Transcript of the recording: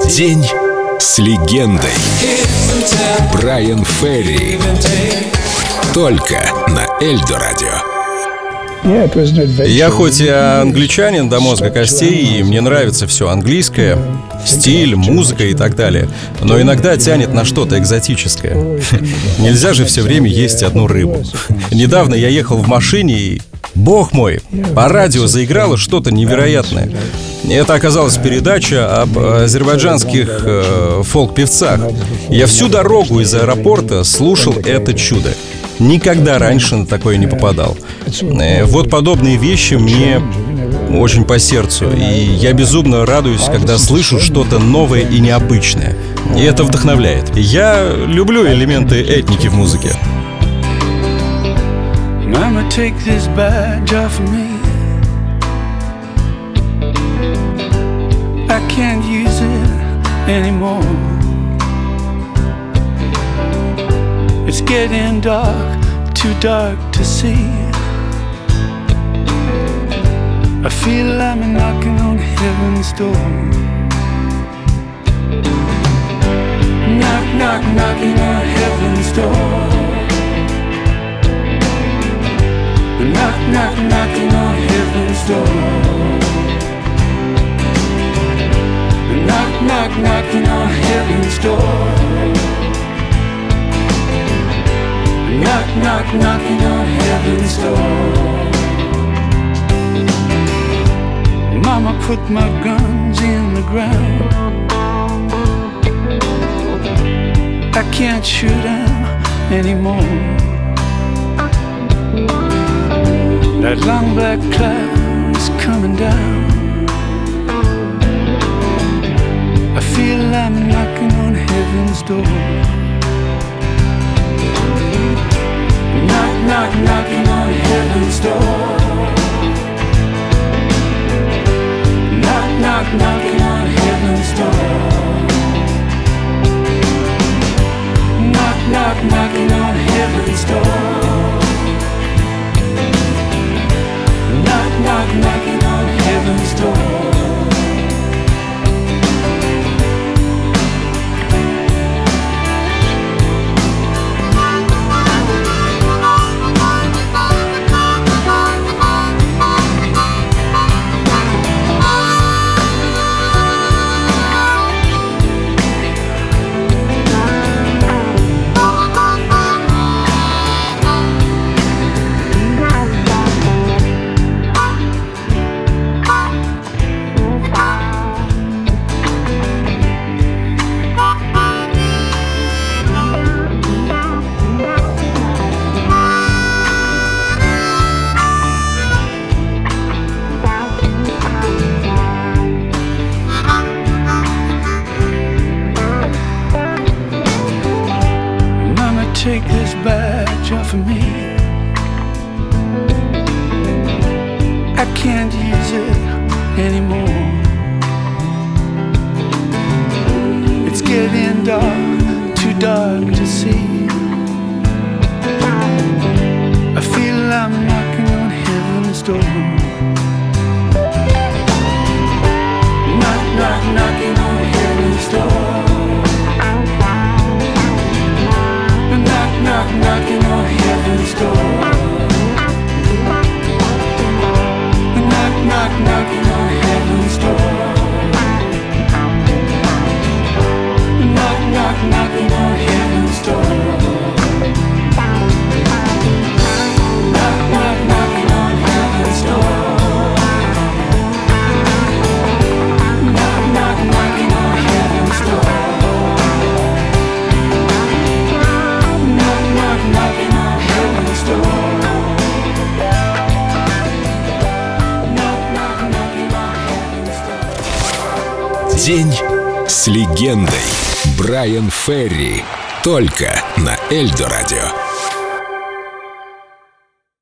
День с легендой. Брайан Ферри. Только на Эльдо Радио. Я хоть и англичанин до мозга костей, и мне нравится все английское, стиль, музыка и так далее, но иногда тянет на что-то экзотическое. Нельзя же все время есть одну рыбу. Недавно я ехал в машине и... Бог мой, по радио заиграло что-то невероятное. Это оказалась передача об азербайджанских фолк-певцах. Я всю дорогу из аэропорта слушал это чудо. Никогда раньше на такое не попадал. Вот подобные вещи мне очень по сердцу. И я безумно радуюсь, когда слышу что-то новое и необычное. И это вдохновляет. Я люблю элементы этники в музыке. Mama, take this badge off of me. I can't use it anymore. It's getting dark, too dark to see. I feel I'm knocking on heaven's door. Knock, knock, knocking on heaven's door. Knock, knock, knocking on heaven's door. Knock, knock, knocking on heaven's door. Knock, knock, knocking on heaven's door. Mama put my guns in the ground. I can't shoot them anymore. That long black cloud is coming down. I feel I'm knocking on heaven's door. Knock, knock, knocking on heaven's door. Knock, knock, knocking on heaven's door. Knock, knock, knocking on heaven's door. Knock, knock, knocking on heaven's door. Take this badge off of me. I can't use it anymore. It's getting dark, too dark to see. I feel I'm knocking on heaven's door. Knock, knock, knocking on heaven's door. Knock, knocking on heaven's door. Knock, knock, knocking on heaven's door. Knock, knock, knocking on heaven's door. Knock, knock, knocking on heaven's door. Knock, knock, knocking on heaven's door. Knocking on heaven's door. Knock, knock, knocking on heaven's door. День с легендой. Брайан Ферри. Только на Эльдо Радио.